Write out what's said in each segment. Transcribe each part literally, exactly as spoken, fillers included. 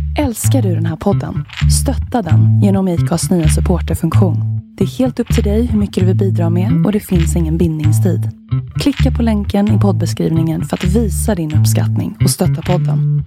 Älskar du den här podden? Stötta den genom I C A:s nya supporterfunktion. Det är helt upp till dig hur mycket du vill bidra med och det finns ingen bindningstid. Klicka på länken i poddbeskrivningen för att visa din uppskattning och stötta podden.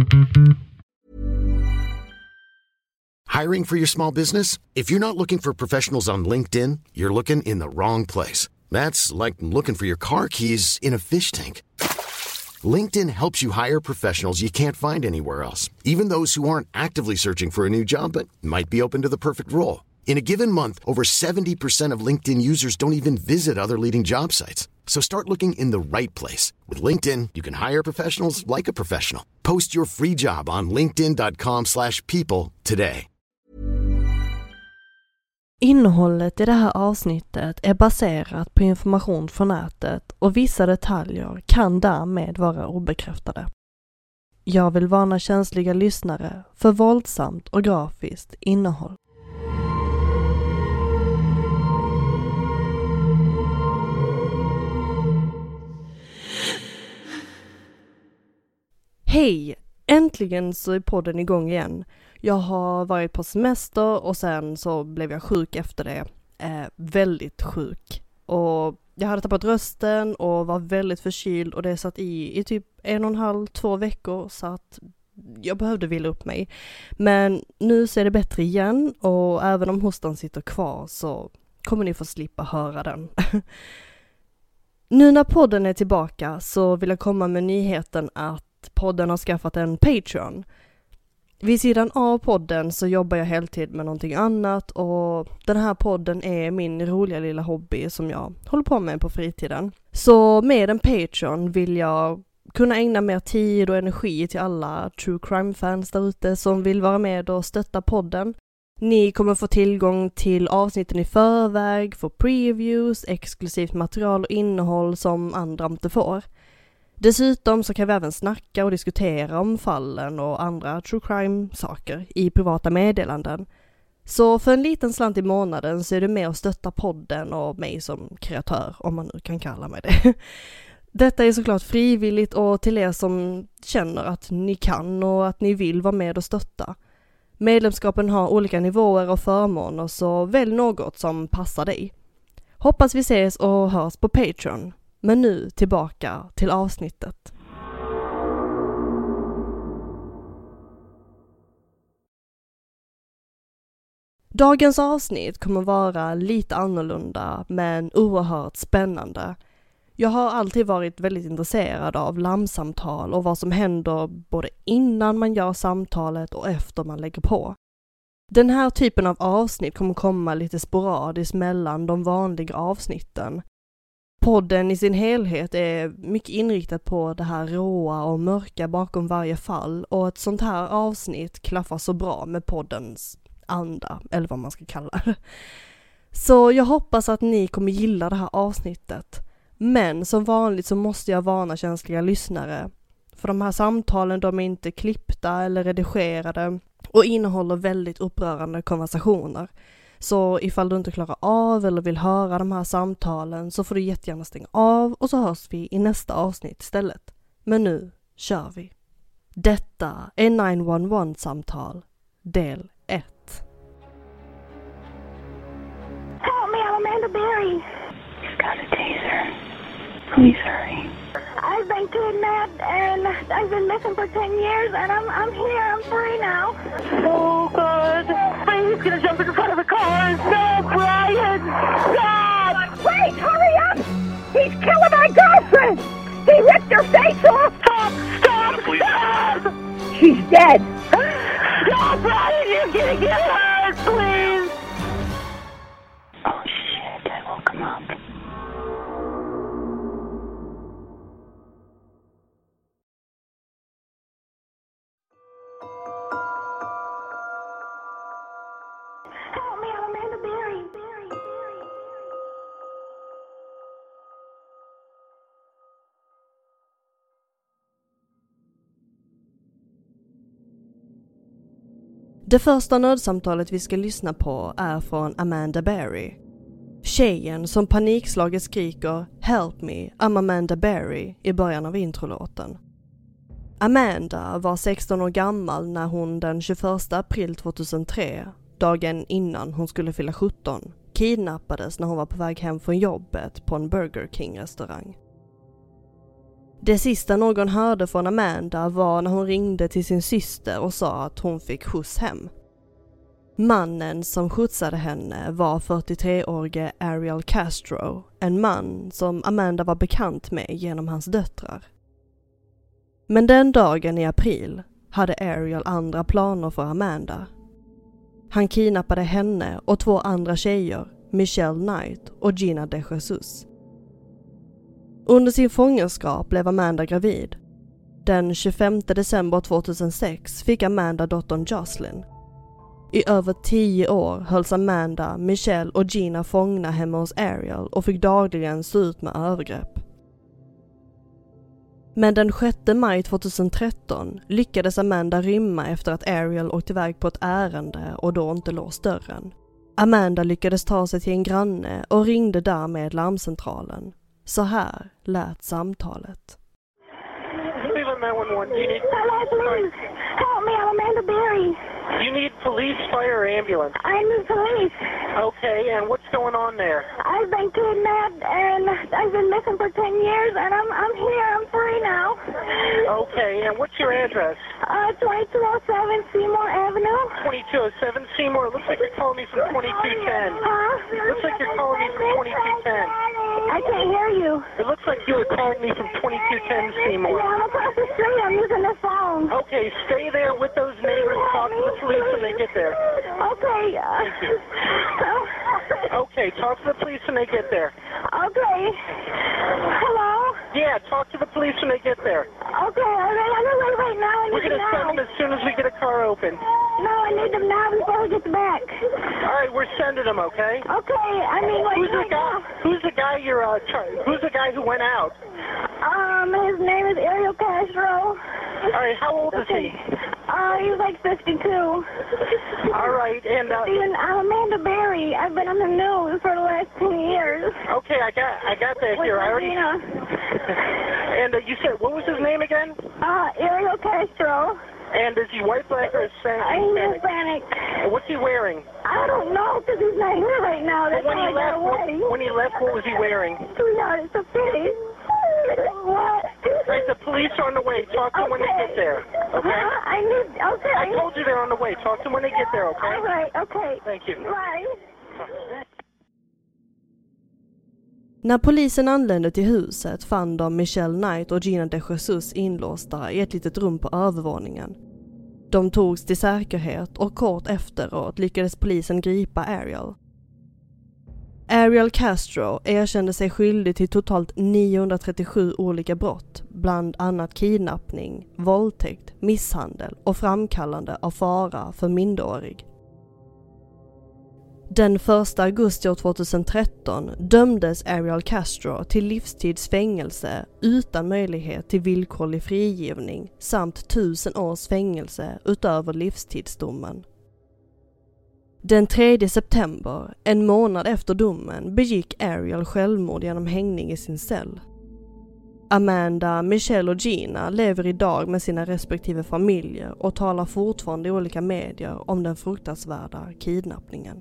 Hiring for your small business? If you're not looking for professionals on LinkedIn, you're looking in the wrong place. That's like looking for your car keys in a fish tank. LinkedIn helps you hire professionals you can't find anywhere else, even those who aren't actively searching for a new job but might be open to the perfect role. In a given month, over seventy percent of LinkedIn users don't even visit other leading job sites. So start looking in the right place. With LinkedIn, you can hire professionals like a professional. Post your free job on linkedin dot com slash people today. Innehållet i det här avsnittet är baserat på information från nätet och vissa detaljer kan därmed vara obekräftade. Jag vill varna känsliga lyssnare för våldsamt och grafiskt innehåll. Hej! Äntligen så är podden igång igen. Jag har varit på semester och sen så blev jag sjuk efter det. Eh, väldigt sjuk. Och jag hade tappat rösten och var väldigt förkyld och det satt i i typ en och en halv, två veckor så att jag behövde vila upp mig. Men nu ser det bättre igen och även om hostan sitter kvar så kommer ni få slippa höra den. Nu när podden är tillbaka så vill jag komma med nyheten att podden har skaffat en Patreon. Vid sidan av podden så jobbar jag heltid med någonting annat och den här podden är min roliga lilla hobby som jag håller på med på fritiden. Så med en Patreon vill jag kunna ägna mer tid och energi till alla true crime-fans där ute som vill vara med och stötta podden. Ni kommer få tillgång till avsnitten i förväg, få previews, exklusivt material och innehåll som andra inte får. Dessutom så kan vi även snacka och diskutera om fallen och andra true crime-saker i privata meddelanden. Så för en liten slant i månaden så är det med att stötta podden och mig som kreatör, om man nu kan kalla mig det. Detta är såklart frivilligt och till er som känner att ni kan och att ni vill vara med och stötta. Medlemskapen har olika nivåer och förmåner så välj något som passar dig. Hoppas vi ses och hörs på Patreon. Men nu tillbaka till avsnittet. Dagens avsnitt kommer vara lite annorlunda men oerhört spännande. Jag har alltid varit väldigt intresserad av larmsamtal och vad som händer både innan man gör samtalet och efter man lägger på. Den här typen av avsnitt kommer komma lite sporadiskt mellan de vanliga avsnitten. Podden i sin helhet är mycket inriktad på det här råa och mörka bakom varje fall och ett sånt här avsnitt klaffar så bra med poddens anda, eller vad man ska kalla det. Så jag hoppas att ni kommer gilla det här avsnittet. Men som vanligt så måste jag varna känsliga lyssnare. För de här samtalen de är inte klippta eller redigerade och innehåller väldigt upprörande konversationer. Så ifall du inte klarar av eller vill höra de här samtalen så får du jättegärna stänga av och så hörs vi i nästa avsnitt istället. Men nu kör vi. Detta är nio ett ett-samtal, del ett. Help me, I'm Amanda Berry. You've got a taser. Please hurry. I've been kidnapped and I've been missing for ten years and I'm I'm here, I'm free now. Oh God. He's gonna jump in front of a car. No, Brian! God! Wait, hurry up! He's killing my girlfriend! He ripped her face off! Stop! Stop! Please. Stop! She's dead! No, Brian, you're gonna get hurt, please! Oh shit, I woke him up. Help me, I'm Amanda Berry. Berry, Berry. Det första nödsamtalet vi ska lyssna på är från Amanda Berry. Tjejen som panikslaget skriker "Help me, I'm Amanda Berry" i början av introlåten. Amanda var sexton år gammal när hon den tjugoförsta april tjugohundratre, dagen innan hon skulle fylla sjutton, kidnappades när hon var på väg hem från jobbet på en Burger King-restaurang. Det sista någon hörde från Amanda var när hon ringde till sin syster och sa att hon fick skjuts hem. Mannen som skjutsade henne var fyrtiotreårige Ariel Castro, en man som Amanda var bekant med genom hans döttrar. Men den dagen i april hade Ariel andra planer för Amanda. Han kidnappade henne och två andra tjejer, Michelle Knight och Gina De Jesus. Under sin fångenskap blev Amanda gravid. Den tjugofemte december tjugohundrasex fick Amanda dottern Jocelyn. I över tio år hölls Amanda, Michelle och Gina fångna hemma hos Ariel och fick dagligen stå ut med övergrepp. Men den sjätte maj tjugotretton lyckades Amanda rymma efter att Ariel åkte iväg på ett ärende och då inte låst dörren. Amanda lyckades ta sig till en granne och ringde därmed larmcentralen. Så här lät samtalet. Hello, please. Help me, I'm Amanda Berry. You need police, fire, or ambulance? I need police. Okay, and what's going on there? I've been kidnapped and I've been missing for ten years and I'm I'm here, I'm free now. Okay, and what's your address? Uh, twenty-two oh seven Seymour Avenue. twenty-two oh seven Seymour. It looks like you're calling me from twenty-two ten. Huh? Looks like you're calling me from twenty-two ten. I can't hear you. It looks like you were calling me from twenty-two ten Seymour. Yeah, I'm across the street, I'm using the phone. Okay, stay there with those neighbors. Talk to the police when they get there. Okay. Thank you. Okay, talk to the police when they get there. Okay. Hello? Yeah, talk to the police when they get there. Okay, all right, I'm gonna wait right now. I We're need going them to send now. them as soon as we get a car open. No, I need them now before we get back. All right, we're sending them, okay? Okay, I mean, like, Who's the right guy? now. Who's the guy you're uh, trying? Who's the guy who went out? Um, his name is Ariel Castro. All right, how old is he? Uh, he's like fifty-two. All right, and uh, Steven, I'm Amanda Berry. I've been on the news for the last ten years. okay, I got I got that With here. I already. Regina. And uh, you said what was his name again? Uh, Ariel Castro. And is he white, black, or Hispanic? I'm Hispanic. And what's he wearing? I don't know because he's not here right now. That's when why he I got left, away. what, when he left, what was he wearing? Sweetheart, it's a pity. What? Right, the police are on the way. Talk to them when they get there. Okay. Huh? I need. Okay. I told you they're on the way. Talk to them when they get there. Okay. All right. Okay. Thank you. Bye. När polisen anlände till huset fann de Michelle Knight och Gina De Jesus inlåsta i ett litet rum på övervåningen. De togs till säkerhet och kort efteråt lyckades polisen gripa Ariel. Ariel Castro erkände sig skyldig till totalt niohundratrettiosju olika brott, bland annat kidnappning, våldtäkt, misshandel och framkallande av fara för minderårig. Den första augusti tjugotretton dömdes Ariel Castro till livstidsfängelse utan möjlighet till villkorlig frigivning samt tusen års fängelse utöver livstidsdomen. Den tredje september, en månad efter domen, begick Ariel självmord genom hängning i sin cell. Amanda, Michelle och Gina lever idag med sina respektive familjer och talar fortfarande i olika medier om den fruktansvärda kidnappningen.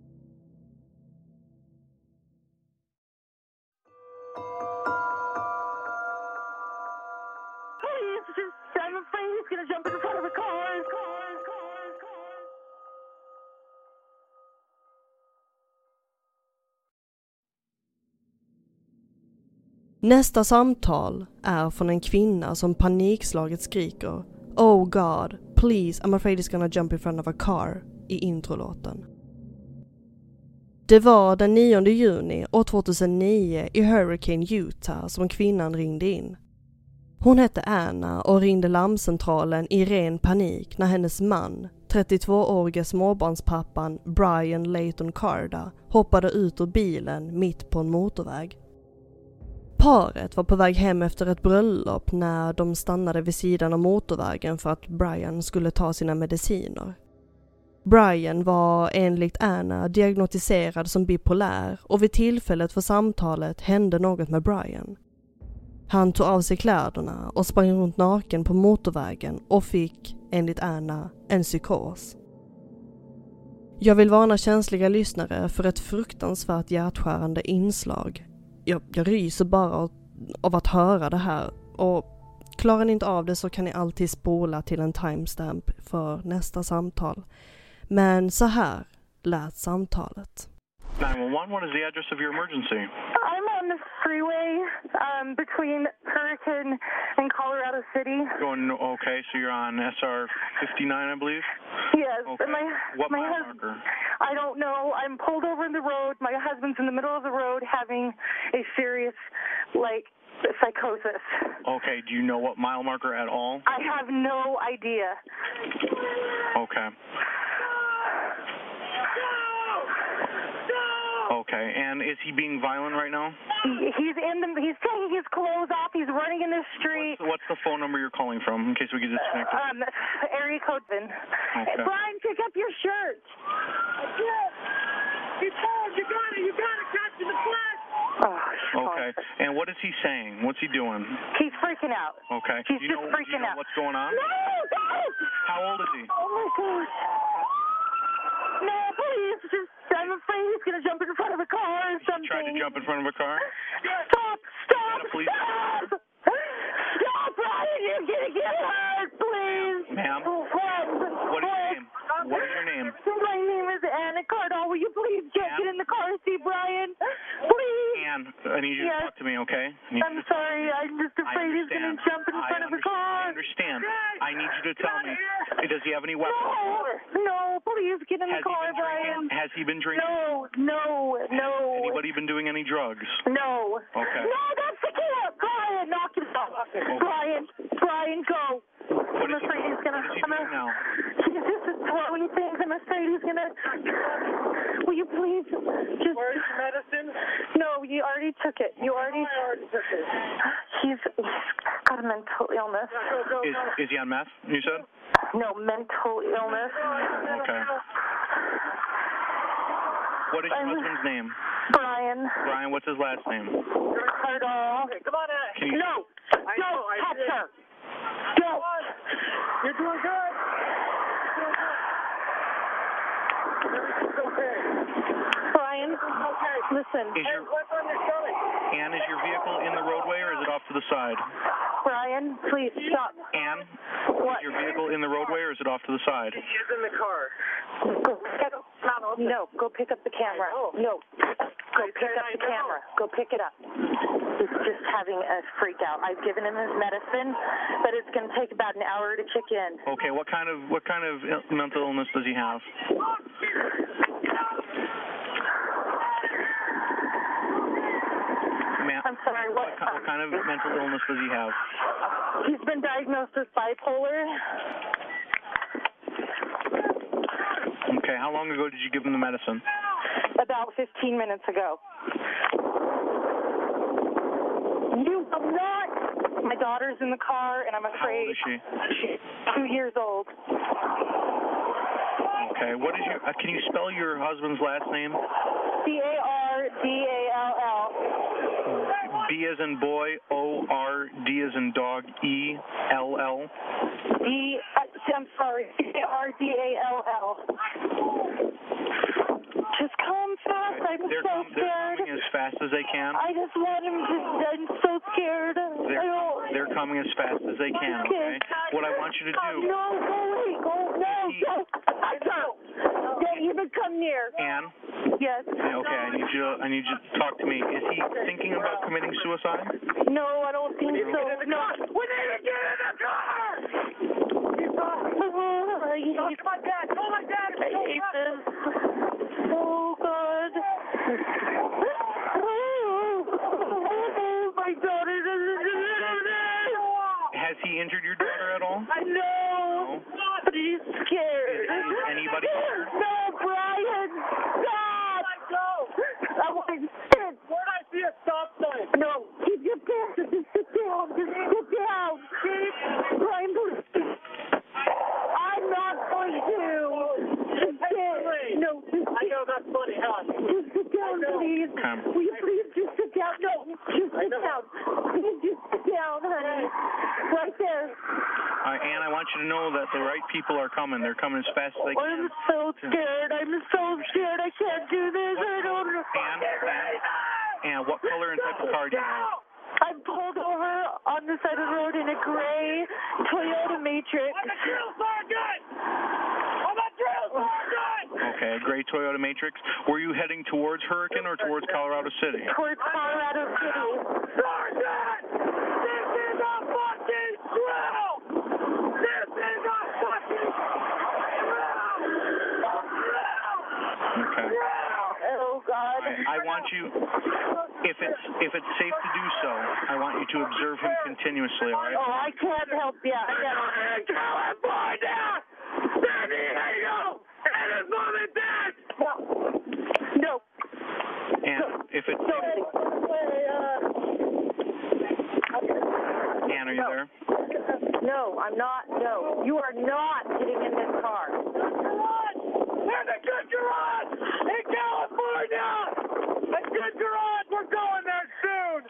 Nästa samtal är från en kvinna som panikslaget skriker "Oh God, please, I'm afraid he's gonna jump in front of a car" i introlåten. Det var den nionde juni år tvåtusennio i Hurricane, Utah som kvinnan ringde in. Hon hette Anna och ringde larmcentralen i ren panik när hennes man, trettiotvåårige småbarnspappan Brian Layton Carda, hoppade ut ur bilen mitt på en motorväg. Paret var på väg hem efter ett bröllop när de stannade vid sidan av motorvägen för att Brian skulle ta sina mediciner. Brian var enligt Anna diagnostiserad som bipolär och vid tillfället för samtalet hände något med Brian. Han tog av sig kläderna och sprang runt naken på motorvägen och fick, enligt Anna, en psykos. Jag vill varna känsliga lyssnare för ett fruktansvärt hjärtskärande inslag. Jag, jag ryser bara av, av att höra det här, och klarar ni inte av det så kan ni alltid spola till en timestamp för nästa samtal. Men så här lät samtalet. nine one one, what is the address of your emergency? I'm on the freeway um, between Hurricane and Colorado City. Going, okay, so you're on S R fifty-nine, I believe? Yes. Okay. My, What my mile hus- marker? I don't know. I'm pulled over in the road. My husband's in the middle of the road having a serious, like, psychosis. Okay, do you know what mile marker at all? I have no idea. Okay. Okay, and is he being violent right now? He's in the. He's taking his clothes off. He's running in the street. What's, what's the phone number you're calling from, in case we get disconnected? Um, area code. Okay. Brian, pick up your shirt. He told you got it. You got it. Catch in the flesh. Oh, Okay, and what is he saying? What's he doing? He's freaking out. Okay. He's do you just know, freaking do you know out. what's going on? No, guys! How old is he? Oh my gosh. No, please. Just, I'm afraid he's going to jump in front of a car or something. Tried to jump in front of a car? Stop! Stop! Is that a police Stop! Stop, Brian! You're going to get hurt, please! Ma'am? What? What is your name? What is your name? My name is Anna Cardall. Will you please get, Ann? get in the car and see Brian? Please! Ann, I need you Yes. to talk to me, okay? I need I'm you to sorry. I'm just I afraid he's going to understand. jump in I front of a understand. car. I understand. I need you to tell me. Does he have any weapons? No, no, please get in Has the he car, been Brian. drinking? Has he been drinking? No, no, no. Anybody been doing any drugs? No. Okay. No, that's the kid. Brian, knock it off. Brian, Brian, go. What I'm is he, afraid he's gonna. what is he I'm doing a, now? He's just throwing things. I'm afraid he's gonna. Will you please just? Where's your medicine? No, you already took it. You already. I already took it. He's, he's got a mental illness. Go, go, Is, go. is he on meth, you said? No, mental illness. Okay. What is your I'm- husband's name? Brian Brian, what's his last name? Cardall. Okay, come on, Ann. Can you, No, I don't know, I touch did. her. Don't. You're doing good. Everything's okay. Brian, Okay. listen. is your, What's on your stomach? Ann, is your vehicle in the roadway or is it off to the side? Brian, please stop. Ann, What? is your vehicle in the roadway or is it off to the side? He is in the car. Go pick up. No, go pick up the camera. No, go pick up the camera. Go pick it up. He's just having a freak out. I've given him his medicine, but it's going to take about an hour to kick in. Okay, what kind of what kind of il- mental illness does he have? Ma'am, I'm sorry, what? what, ki- what kind of mental illness does he have? He's been diagnosed with bipolar. Okay, how long ago did you give him the medicine? About fifteen minutes ago. You will not. My daughter's in the car, and I'm How afraid old is she? she's two years old. Okay, what is your? Uh, can you spell your husband's last name? C A R D A L L. B as in boy, O R D as in dog, E L L. D. Uh, I'm sorry. C A R D A L L. Just come fast. I'm They're, so com- they're scared. coming as fast as they can. I just want him to. I'm so scared. I They're, don't. they're coming as fast as they can, okay? What I want you to do, No, go away. Go. No, he- don't. I don't. Don't even come near. Ann, Yes. yeah, okay, I need you to, I need you to talk to me. Is he thinking about committing suicide? No, I don't think so. No. We need to get in the car! Oh, I hate, Talk to my dad. Call my dad. I hate this. Oh, God. Oh, my daughter doesn't deserve this. Has he injured your daughter at all? I know, but he's scared. Is- is anybody scared? No, Brian, stop! I want to sit. Where'd I see a stop sign? No, keep your pants. Just sit down. Just sit down. Brian, please. I'm not going to. Just sit. No, just I know that's funny, huh? Just sit down, please. Come. Will you please just sit down? No, just sit down. Please just sit down, honey. Right there. Uh, Ann, I want you to know that the right people are coming. They're coming as fast as they can. I'm so scared. I'm so scared. I can't do this. I don't know. Ann, Ann, Ann, what color and type of car do you have? I'm pulled over on the side of the road in a gray Toyota Matrix. I'm a drill sergeant! I'm a drill sergeant! Okay, a gray Toyota Matrix. Were you heading towards Hurricane or towards Colorado City? Towards Colorado City. Sergeant! This is a fucking drill! This is a fucking drill! Okay. Oh, God. I, I want you, if it's if it's safe to do so, I want you to observe him continuously, all right? Oh, I can't help you. I can't. In California! San Diego! And his mom and dad! No. And if it's No. Ann, are you there? No, I'm not. No. You are not getting in this car. There's a good garage in California! A good garage! We're going there soon!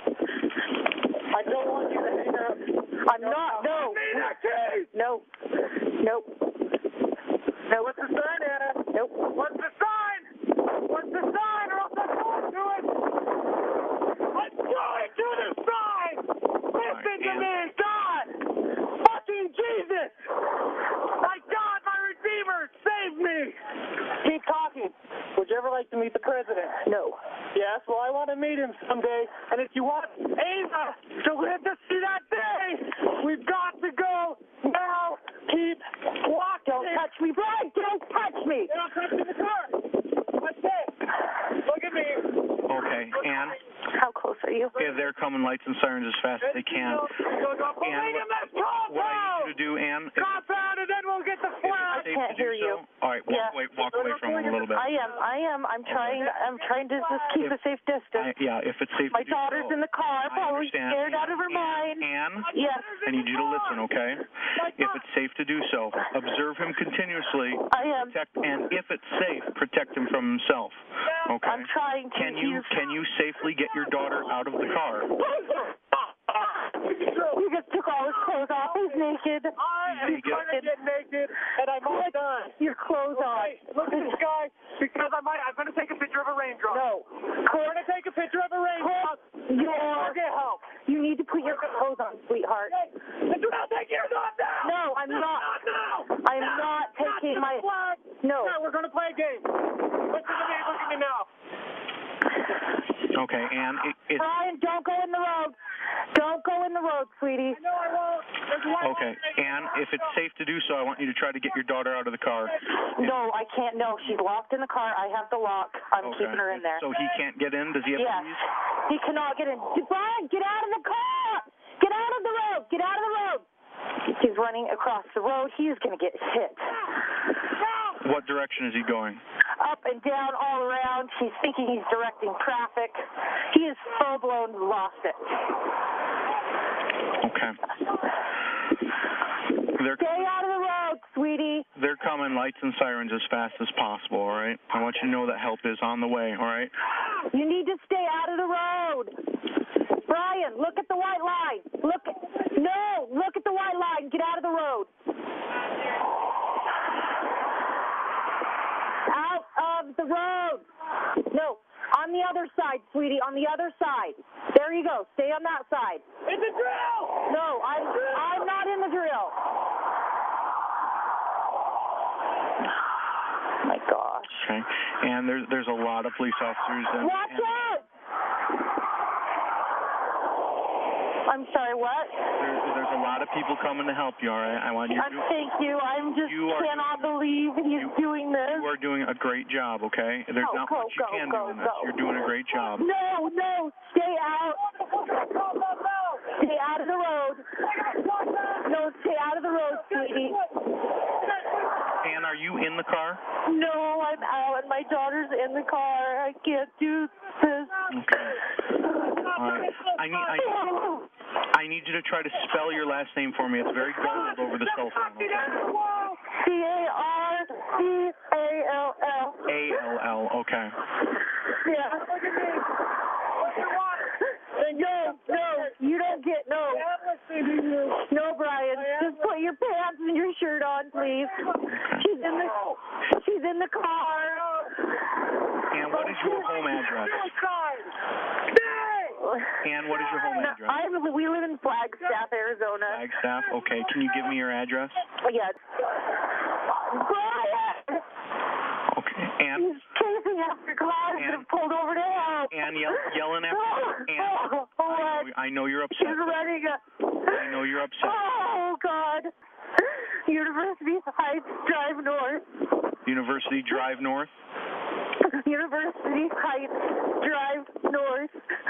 I don't want you to hang up. I'm not. No. Need a key! No. Nope. No. What's the sign, Anna? Nope. What's the sign? What's the sign or else I'm going to it? I'm going to the sign! Listen to me, God! Fucking Jesus! My God, my Redeemer, save me! Keep talking. Would you ever like to meet the president? No. Yes, well, I want to meet him someday. And if you want Ava to live to see that day, we've got to go now. Keep walking. Don't touch me, Brian. Don't touch me. Don't touch me in the car. What's that? Look at me. Okay, Ann, How close are you? if they're coming lights and sirens as fast as they can. Go, go, go. Ann, Believe him, let's what I need you to do, Ann, if compound, and then we'll get the flag. it's safe can't to do hear you. so, all right, walk, Yeah. away, walk away from him a little bit. I am. I am. I'm trying. I'm trying to just keep a safe I, distance. yeah, if it's safe My to do daughter's so. in the car, I probably understand. scared out of her mind. Ann, Yes. I need you to listen, okay? If it's safe to do so, observe him continuously. I am. Protect, and if it's safe, protect him from himself. Okay. I'm trying to. Can you He's- can you safely get your daughter out of the car? He just took all his clothes off. He's naked. I am Naked. going to get naked, and I'm all done. Your clothes on. Hey, look at this guy, because I might, I'm going to take a picture of a raindrop. No. I'm going to take a picture of a raindrop. You're, I'll get help. you need to put your clothes on, sweetheart. Listen, I'll take yours off now. No, I'm not. Not now. I'm not taking my. Flag. No. Yeah, we're going to play a game. Listen to me. Look at me now. Okay, Ann, it, it's Brian, don't go in the road. Don't go in the road, sweetie. No, I won't. There's one okay, Ann, if it's safe to do so, I want you to try to get your daughter out of the car. No, I can't. No, she's locked in the car. I have the lock. I'm Okay. keeping her in there. So he can't get in? Does he have Yes. keys? He cannot get in. Brian, get out of the car! Get out of the road! Get out of the road! He's running across the road. He is going to get hit. What direction is he going? Up and down, all around. He's thinking he's directing traffic. He is full-blown lost it. Okay. They're Stay out of the road, sweetie. they're coming lights and sirens as fast as possible, all right? I want you to know that help is on the way, all right? You need to stay out of the road. Brian, look at the white line. Look. No, look at the white line. Get out of the road. Out of the road. No, on the other side, sweetie, on the other side. There you go. Stay on that side. It's a drill. No, I'm I'm not in the drill. Oh my gosh. Okay. And there's there's a lot of police officers and, Watch and out! I'm sorry, what? there's, there's a lot of people coming to help you, all right? I want you I'm, to thank you. I'm just You are cannot believe he's you- doing this. you are doing a great job, okay? There's Go, not go, much you go, can go, do in this. go. You're doing a great job. No, no, stay out. Stay out of the road. No, stay out of the road, sweetie. Ann, are you in the car? No, I'm out, and my daughter's in the car. I can't do this. Okay. All right. I need I need, I need you to try to spell your last name for me. It's very garbled over the cell phone. Okay? C A R C A L L. A L L. Okay. Yeah. No, no, you don't get, no. Okay. She's in the, she's in the car. And what is your home address? And what is your home address? I we live in Flagstaff, Arizona. Flagstaff. Okay. Can you give me your address? Yes. Brian! Okay. And? He's chasing after cars that have pulled over to help. And yell, yelling after. And Oh, I know you're upset. He's running. I know you're upset. Oh, God. University Heights Drive North. University Drive North? University Heights Drive North.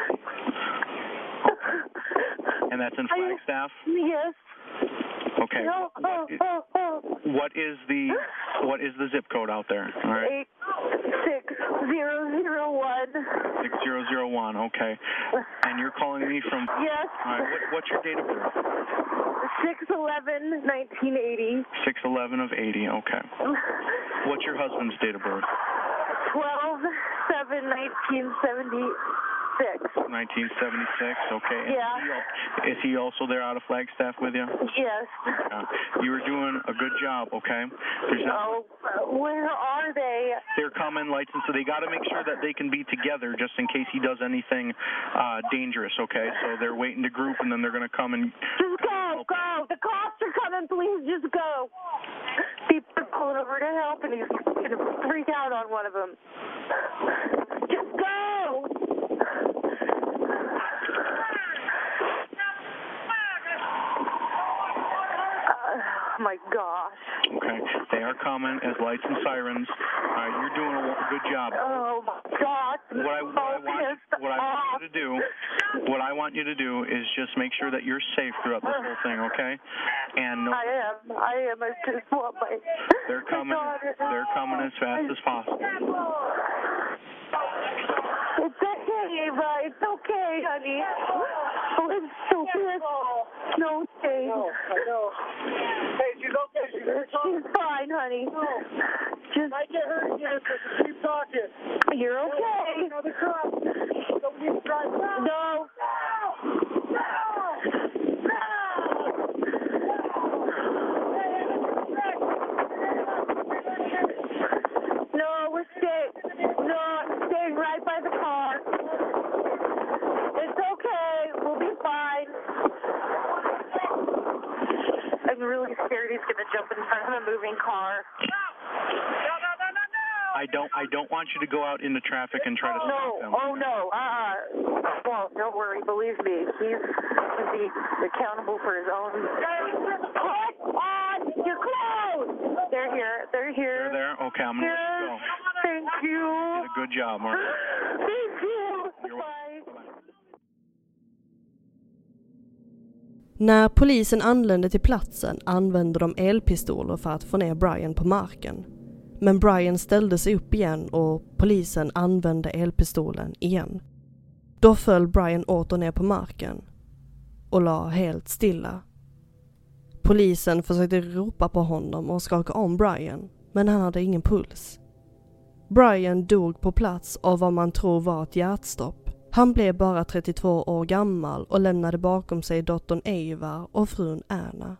And that's in Flagstaff? Yes. Okay. No. What is, what is the what is the zip code out there? All right. Eight six zero zero one. Six zero zero one. Okay. And you're calling me from? Yes. All right. What, what's your date of birth? Six eleven nineteen eighty. Six eleven of eighty. Okay. What's your husband's date of birth? Twelve seven nineteen seventy. nineteen seventy-six, okay. And yeah. Is he, is he also there out of Flagstaff with you? Yes. Uh, you were doing a good job, okay? There's not, oh, where are they? They're coming, license, so they got to make sure that they can be together just in case he does anything uh, dangerous, okay? So they're waiting to group, and then they're going to come and... Just go, go. The cops are coming, please just go. People are pulling over to help, and he's going to freak out on one of them. Just go. Oh, my gosh. Okay. They are coming as lights and sirens. All right, you're doing a good job. Oh, my gosh. What I, what I want, what I want you to do, what I want you to do is just make sure that you're safe throughout this whole thing, okay? And no, I am. I am. I just want my. They're coming. They're coming as fast as possible. It's okay, Ava. It's okay, honey. Oh, it's so good. No, okay. No, I know. Hey, she's okay. She's, she's fine, honey. No. Just I get hurt again because you keep talking. You're okay. Another cop. Don't need to drive. No. No, we're staying. No, I'm staying right by the car. It's okay. We'll be fine. I'm really scared he's gonna jump in front of a moving car. I don't. I don't want you to go out into traffic and try to no. stop them. Oh no. Uh. Well, don't worry. Believe me, he's to be accountable for his own. Put on your clothes. They're here. They're here. They're there. Okay, I'm gonna yes. let you go. Thank you. You did a good job, Mark. Thank you. You're welcome. Bye. När polisen anlände till platsen använde de elpistoler för att få ner Brian på marken. Men Brian ställde sig upp igen och polisen använde elpistolen igen. Då föll Brian åter ner på marken och la helt stilla. Polisen försökte ropa på honom och skaka om Brian, men han hade ingen puls. Brian dog på plats av vad man tror var ett hjärtstopp. Han blev bara trettiotvå år gammal och lämnade bakom sig dottern Ava och frun Anna.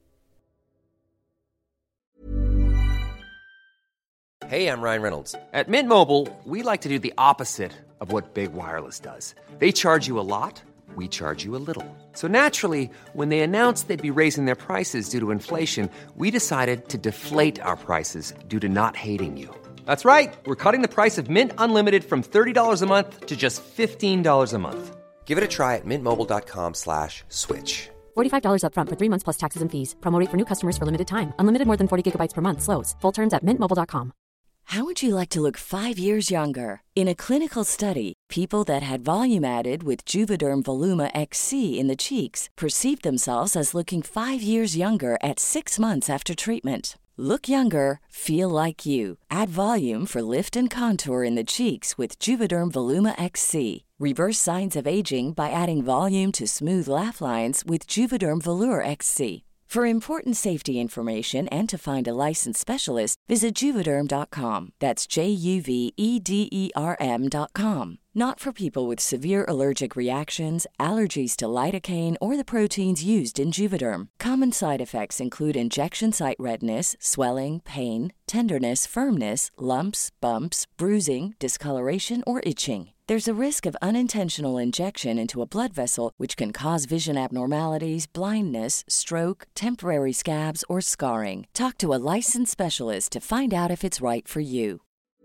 Hey, I'm Ryan Reynolds. At Mint Mobile, we like to do the opposite of what Big Wireless does. They charge you a lot, we charge you a little. So naturally, when they announced they'd be raising their prices due to inflation, we decided to deflate our prices due to not hating you. That's right. We're cutting the price of Mint Unlimited from thirty dollars a month to just fifteen dollars a month. Give it a try at mintmobile.com slash switch. forty-five dollars up front for three months plus taxes and fees. Promo rate for new customers for limited time. Unlimited more than forty gigabytes per month. Slows full terms at mint mobile dot com. How would you like to look five years younger? In a clinical study, people that had volume added with Juvederm Voluma X C in the cheeks perceived themselves as looking five years younger at six months after treatment. Look younger, feel like you. Add volume for lift and contour in the cheeks with Juvederm Voluma X C. Reverse signs of aging by adding volume to smooth laugh lines with Juvederm Volure X C. For important safety information and to find a licensed specialist, visit Juvederm dot com. That's J U V E D E R M dot com. Not for people with severe allergic reactions, allergies to lidocaine, or the proteins used in Juvederm. Common side effects include injection site redness, swelling, pain, tenderness, firmness, lumps, bumps, bruising, discoloration, or itching. There's a risk of unintentional injection into a blood vessel, which can cause vision abnormalities, blindness, stroke, temporary scabs, or scarring. Talk to a licensed specialist to find out if it's right for you.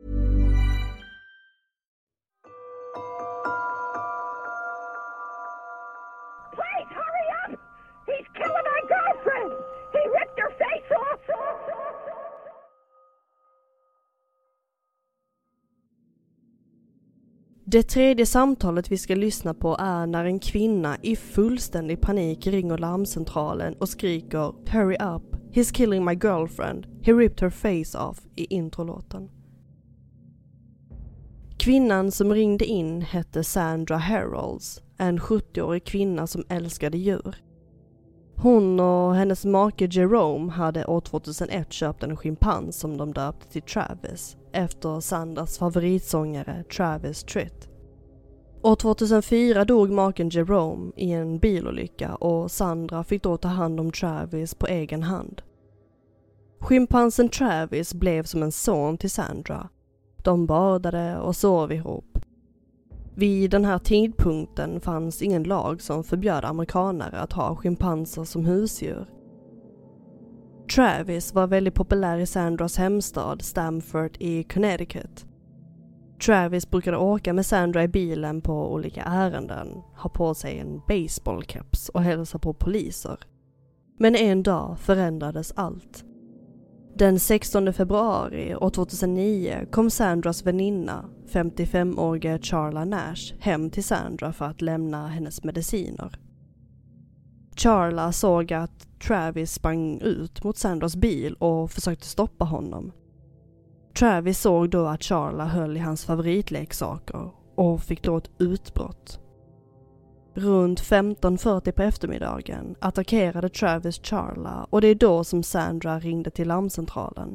Please, hurry up! He's killing my girlfriend! He ripped her face off! Det tredje samtalet vi ska lyssna på är när en kvinna i fullständig panik ringer larmcentralen och skriker "Hurry up, he's killing my girlfriend, he ripped her face off" i introlåten. Kvinnan som ringde in hette Sandra Herolds, en sjuttioårig kvinna som älskade djur. Hon och hennes make Jerome hade år tjugohundraett köpt en schimpans som de döpte till Travis, efter Sandras favoritsångare Travis Tritt. År tjugohundrafyra dog maken Jerome i en bilolycka och Sandra fick då ta hand om Travis på egen hand. Schimpansen Travis blev som en son till Sandra. De badade och sov ihop. Vid den här tidpunkten fanns ingen lag som förbjöd amerikanare att ha schimpanser som husdjur. Travis var väldigt populär i Sandras hemstad Stamford i Connecticut. Travis brukade åka med Sandra i bilen på olika ärenden, ha på sig en baseballcaps och hälsa på poliser. Men en dag förändrades allt. Den sextonde februari år tjugohundranio kom Sandras väninna, femtiofemåriga Charla Nash, hem till Sandra för att lämna hennes mediciner. Charla såg att Travis sprang ut mot Sandras bil och försökte stoppa honom. Travis såg då att Charla höll i hans favoritleksaker och fick då ett utbrott. Runt femton fyrtio på eftermiddagen attackerade Travis Charla och det är då som Sandra ringde till larmcentralen.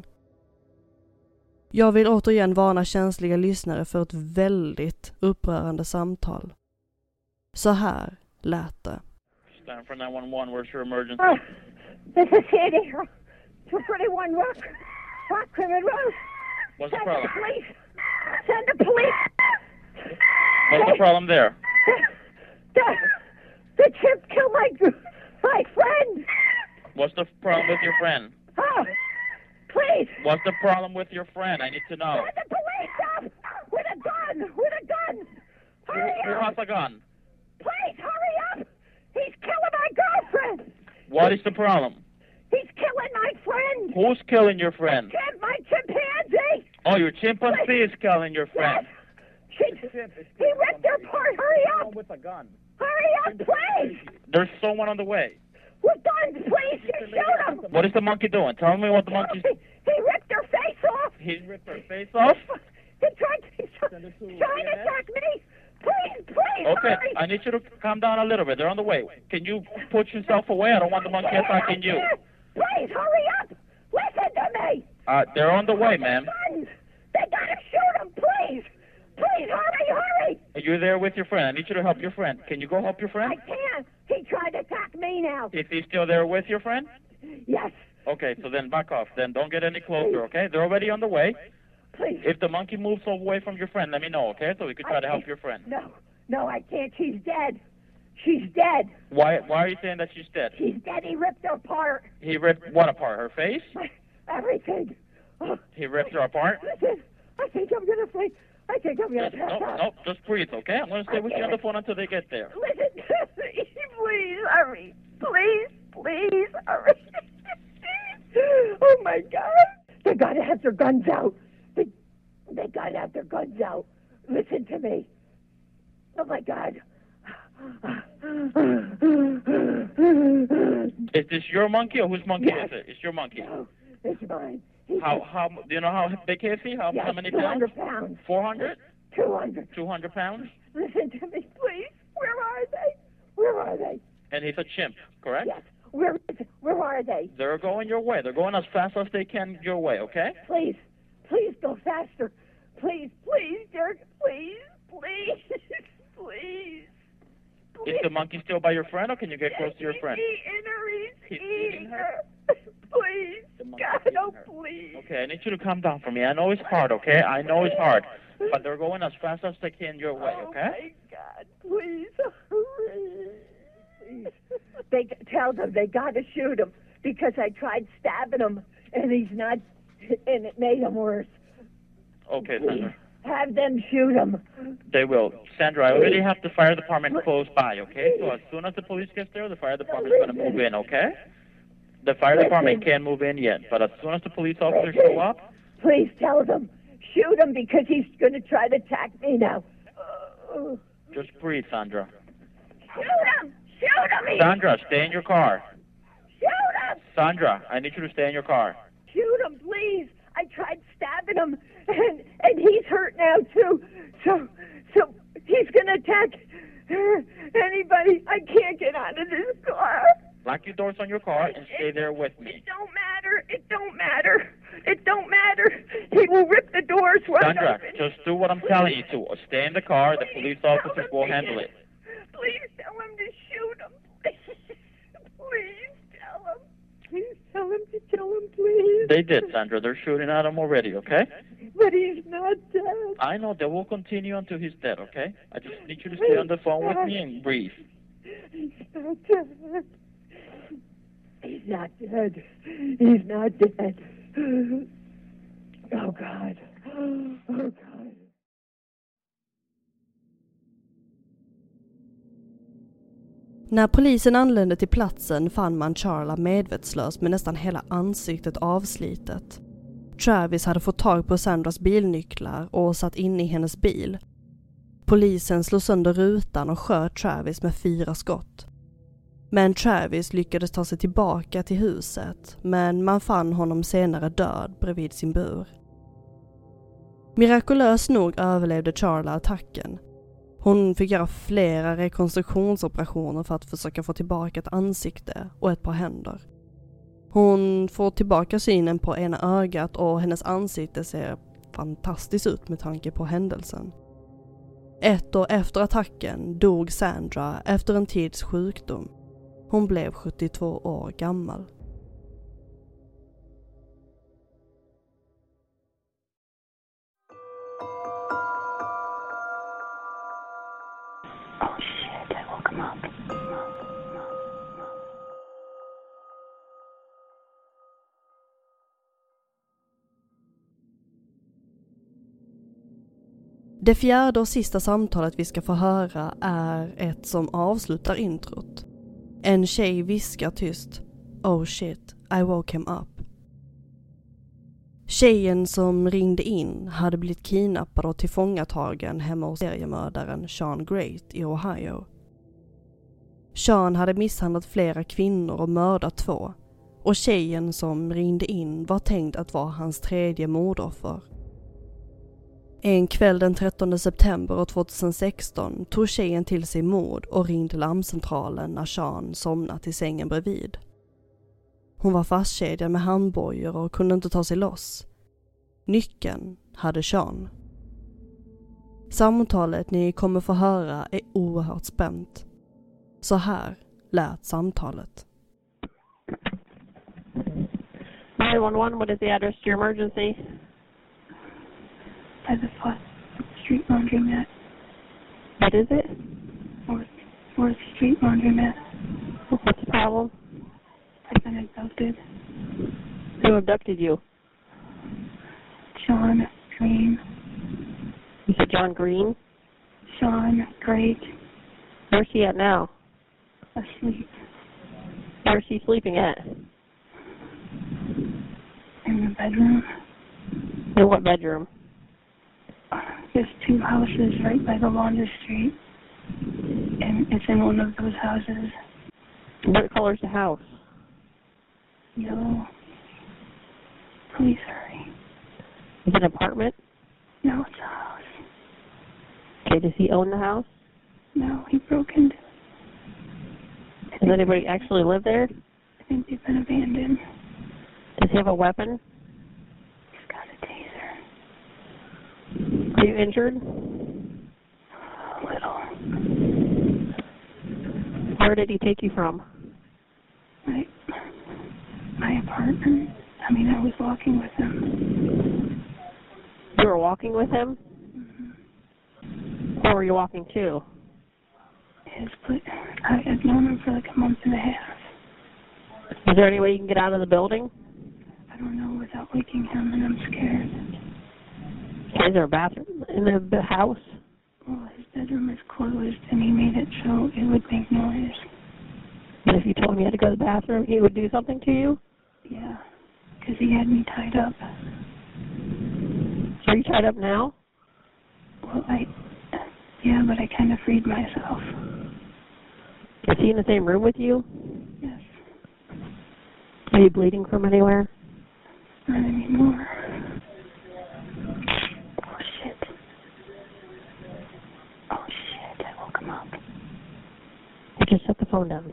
Jag vill återigen varna känsliga lyssnare för ett väldigt upprörande samtal. Så här lät det. Stanford nine one one, where's your emergency? Oh, this is Sandy. two thirty-one Rock, Rock Crimin Road. What's the Send problem? the police. Send the police. What's the problem there? The, the chimp killed my my friend. What's the problem with your friend? Oh, please. What's the problem with your friend? I need to know. Send the police up with a gun. With a gun. Hurry Who up. has a gun? Please hurry up. He's killing my girlfriend. What is the problem? He's killing my friend. Who's killing your friend? Chimp, my chimpanzee. Oh, your chimpanzee is killing your friend. Yes. She, he ripped her apart. Hurry up. With a gun. Hurry up, please. There's someone on the way. With guns, please. You shoot him. What is the monkey doing? Tell me what the monkey's... He, he ripped her face off. He ripped her face off? He tried to, he's trying to attack me. Please, please, Okay, hurry. I need you to calm down a little bit. They're on the way. Can you put yourself away? I don't want the monkey attacking you. Please, hurry up. Listen to me. Uh, they're on the way, ma'am. Guns. They gotta shoot him, please. Please, hurry, hurry. Are you there with your friend? I need you to help your friend. Can you go help your friend? I can't. He tried to attack me now. Is he still there with your friend? Yes. Okay, so then back off. Then don't get any closer, okay? They're already on the way. Please. If the monkey moves away from your friend, let me know, okay? So we could try I to help can't. your friend. No, no, I can't. She's dead. She's dead. Why Why are you saying that she's dead? She's dead. He ripped her apart. He ripped what apart? Her face? Everything. Oh, He ripped her apart? listen, I think I'm gonna sleep. I think I'm gonna Just, pass no, out. no, just breathe, okay? I'm going to stay with you on the phone until they get there. Listen to me. Please hurry. Please, please hurry. Oh my God. They gotta have their guns out. They, they gotta have their guns out. Listen to me. Oh my God. Is this your monkey or whose monkey Yes. is it? It's your monkey. No, it's mine. He's How, how, do you know how big is he? How, yes, how many two pounds? hundred pounds. four hundred? two hundred. two hundred pounds? Listen to me, please. Where are they? Where are they? And he's a chimp, correct? Yes. Where is Where are they? They're going your way. They're going as fast as they can your way, okay? Please, please go faster. Please, please, Dirk, please, please, please. Is the monkey still by your friend, or can you get close to your friend? He's eating her. He's, He's eating her. Please, God, oh, please. Okay, I need you to calm down for me. I know it's hard, okay? I know it's hard. But they're going as fast as they can your way, okay? Oh, my God, please, hurry. Please. They tell them they got to shoot him because I tried stabbing him, and he's not, and it made him worse. Okay, Sandra. Have them shoot him. They will. Sandra, I already have the fire department close by, okay? So as soon as the police gets there, the fire department's going to move in, okay? The fire department can't move in yet, but as soon as the police officers show up... Please tell them. Shoot him because he's going to try to attack me now. Just breathe, Sandra. Shoot him! Shoot him! Sandra, stay in your car. Shoot him! Sandra, I need you to stay in your car. Shoot him, please. I tried stabbing him, and and he's hurt now too. So so he's gonna attack anybody. I can't get out of this car. Lock your doors on your car and stay there with me. It don't matter. It don't matter. It don't matter. He will rip the doors wide Sandra, open. just do what I'm telling you to. Stay in the car. The police officers will handle it. Please tell him to shoot him. Please, please tell him. Please tell him to kill him, please. They did, Sandra. They're shooting at him already, okay? But he's not dead. I know. They will continue until he's dead, okay? I just need you to stay on the phone with me and breathe. He's not dead. He's not dead. He's not dead. Oh, God. Oh, God. När polisen anlände till platsen fann man Charla medvetslös med nästan hela ansiktet avslitet. Travis hade fått tag på Sandras bilnycklar och satt inne i hennes bil. Polisen slog sönder rutan och sköt Travis med fyra skott. Men Travis lyckades ta sig tillbaka till huset, men man fann honom senare död bredvid sin bur. Mirakulöst nog överlevde Charla attacken. Hon fick göra flera rekonstruktionsoperationer för att försöka få tillbaka ett ansikte och ett par händer. Hon får tillbaka synen på ena ögat och hennes ansikte ser fantastiskt ut med tanke på händelsen. Ett år efter attacken dog Sandra efter en tids sjukdom. Hon blev sjuttiotvå år gammal. Oh shit, I woke him up. Det fjärde och sista samtalet vi ska få höra är ett som avslutar introt. En tjej viskar tyst: "Oh shit, I woke him up." Tjejen som ringde in hade blivit kidnappad och tillfångatagen hemma hos seriemördaren Sean Great i Ohio. Sean hade misshandlat flera kvinnor och mördat två, och tjejen som ringde in var tänkt att vara hans tredje mordoffer. En kväll den trettonde september tjugohundrasexton tog tjejen till sig mord och ringde larmcentralen när Sean somnat i sängen bredvid. Hon var fastkedjad med handbojor och kunde inte ta sig loss. Nyckeln hade Sean. Samtalet ni kommer få höra är oerhört spänt. Så här lät samtalet. nine one one, what is the address to your emergency? By the Fourth Street Laundromat. What is it? Fourth, Fourth Street Laundromat. What's the problem? I've been abducted. Who abducted you? Sean Green. You said John Green? Sean Great. Where's he at now? Asleep. Where's he sleeping at? In the bedroom. In what bedroom? There's two houses right by the Laundry Street, and it's in one of those houses. What color's the house? Yellow. Please hurry. Is it an apartment? No, it's a house. Okay, does he own the house? No, he broke into it. Does anybody actually live there? think they've been abandoned. Does he have a weapon? He's got a taser. Are you injured? A little. Where did he take you from? My, my apartment. I mean, I was walking with him. You were walking with him? Mm-hmm. Where were you walking to? His place. I had known him for like a month and a half. Is there any way you can get out of the building? I don't know without waking him, and I'm scared. Is there a bathroom in the, the house? Well, his bedroom is closed, and he made it so it would make noise. And if you told him you had to go to the bathroom, he would do something to you? Yeah, because he had me tied up. Are you tied up now? Well, I... Yeah, but I kind of freed myself. Is he in the same room with you? Yes. Are you bleeding from anywhere? Not anymore. Oh, shit. Oh, shit, I woke him up. I just set the phone down.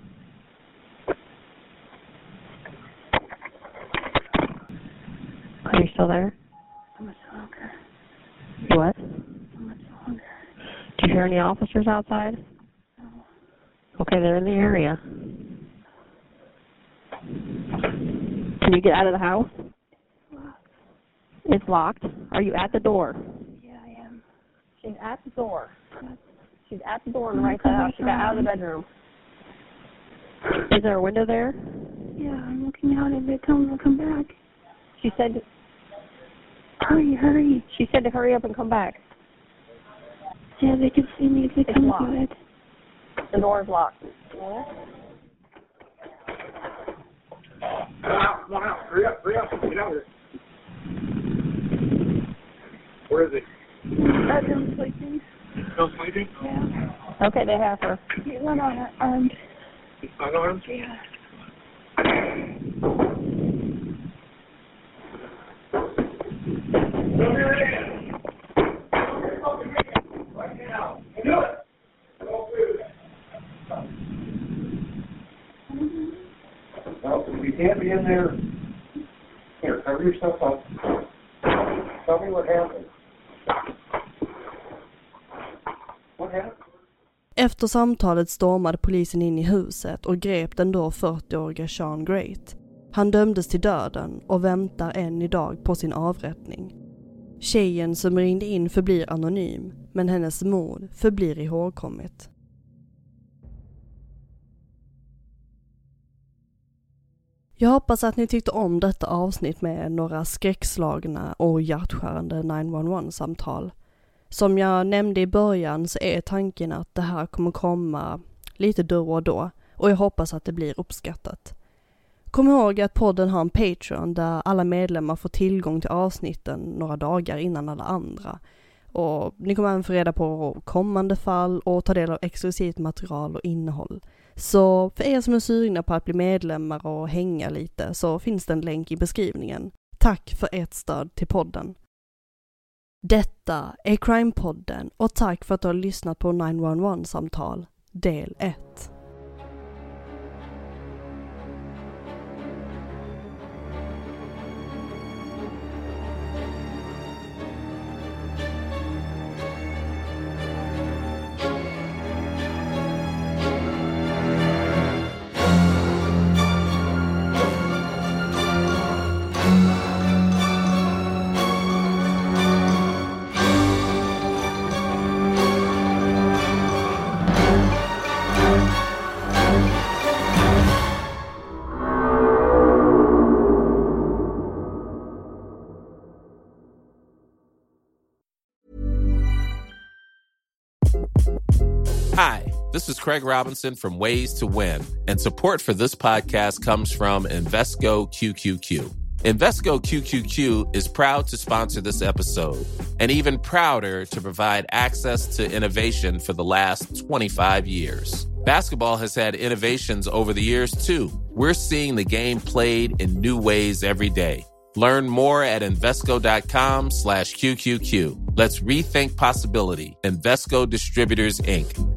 Are you still there? How much longer? You what? How much longer? Do you hear any officers outside? No. Okay, they're in the area. Can you get out of the house? It's locked. It's locked? Are you at the door? Yeah, I am. She's at the door. What? She's at the door on the right side of the house. She got out of the bedroom. Is there a window there? Yeah, I'm looking out and they tell me to come back. She said... To, hurry, hurry. She said to hurry up and come back. Yeah, they can see me if they It's come locked. to it. The door is locked. Come out, come on out. Hurry up, hurry up. Get out here. Where is he? Bedroom sleeping. Still sleeping? Yeah. Okay, they have her. He went on armed. He's unarmed? Yeah. Well, if you can't be in there, here, cover yourself up. Tell me what happened. What happened? Efter samtalet stormade polisen in i huset och grep den då fyrtioåriga Sean Great. Han dömdes till döden och väntar än idag på sin avrättning. Tjejen som ringde in förblir anonym, men hennes mord förblir ihågkommet. Jag hoppas att ni tyckte om detta avsnitt med några skräckslagna och hjärtskärande nio ett ett-samtal. Som jag nämnde i början så är tanken att det här kommer komma lite då och då, och jag hoppas att det blir uppskattat. Kom ihåg att podden har en Patreon där alla medlemmar får tillgång till avsnitten några dagar innan alla andra. Och ni kommer även få reda på kommande fall och ta del av exklusivt material och innehåll. Så för er som är sugna på att bli medlemmar och hänga lite så finns det en länk i beskrivningen. Tack för ert stöd till podden. Detta är Crime-podden och tack för att du har lyssnat på nio ett ett-samtal del ett. Hi, this is Craig Robinson from Ways to Win, and support for this podcast comes from Invesco Q Q Q. Invesco Q Q Q is proud to sponsor this episode, and even prouder to provide access to innovation for the last twenty-five years. Basketball has had innovations over the years, too. We're seeing the game played in new ways every day. Learn more at Invesco.com slash QQQ. Let's rethink possibility. Invesco Distributors, Incorporated.